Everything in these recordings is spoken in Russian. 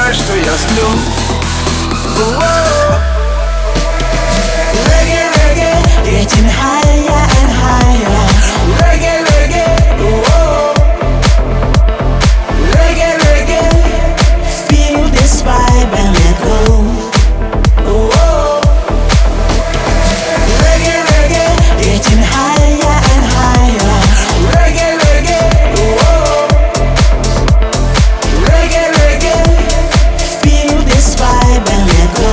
знай, что я сплю. Reggae, reggae, Getting higher and higher. reggae, reggae, reggae, reggae, Feel this vibe and let go. reggae, reggae, Getting higher and higher. reggae, reggae, reggae, reggae. Feel this vibe and let go.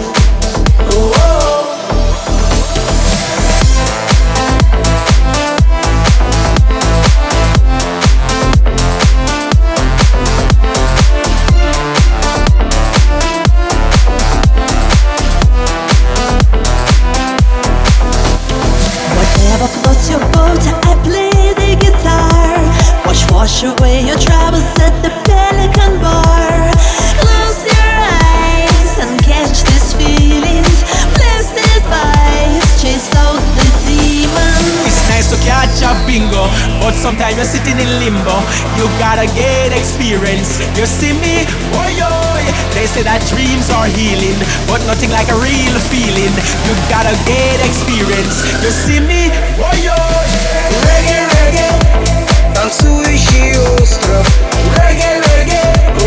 Whatever floats your boat, I play the guitar. Wash away your troubles at the Pelican Bar. Close your eyes and catch these feelings. Blessed vibes, chase out the demons. It's nice to catch a bingo, but sometimes you're sitting in limbo. You gotta get experience. You see me? Oh yo, they say that dreams are healing, but nothing like a real feeling. You gotta get experience. You see me? Oh yo, Reggae, reggae, танцующий остров. Reggae, reggae,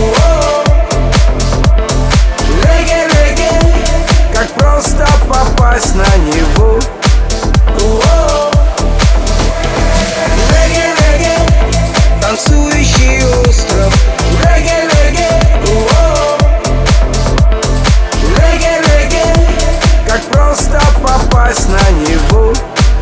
reggae, reggae, как просто попасть на него. Reggae, reggae, танцующий остров. Reggae, reggae, reggae, reggae, как просто попасть на него.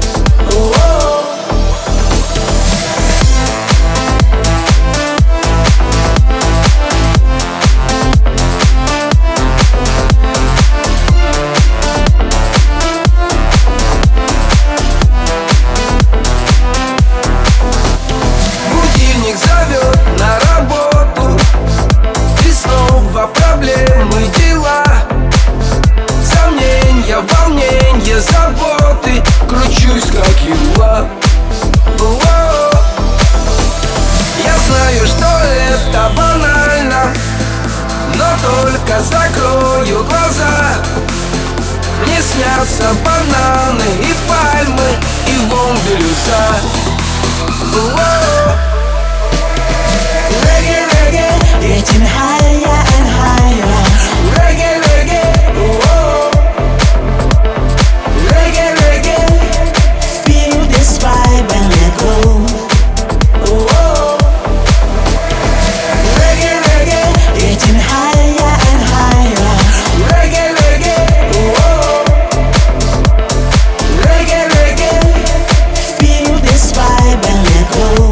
Будильник зовет на работу, и снова проблемы, дела, сомнения, волнения, заботы. Кручусь как юла. Я знаю, что это банально, но только закрою глаза. Мне снятся бананы и пальмы, и лом бирюза. Reggae, reggae, Getting higher and higher. reggae, reggae, reggae, reggae, Feel this vibe and let go. reggae, reggae, Getting higher and higher. reggae, reggae, reggae, reggae. Feel this vibe and let go.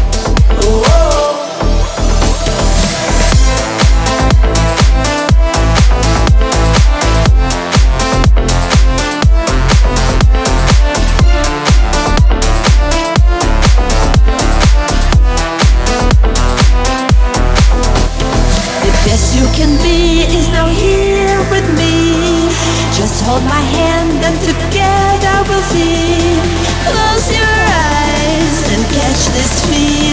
The best you can be is now here with me. Just hold my hand and together we'll see. Close your eyes and catch this feeling.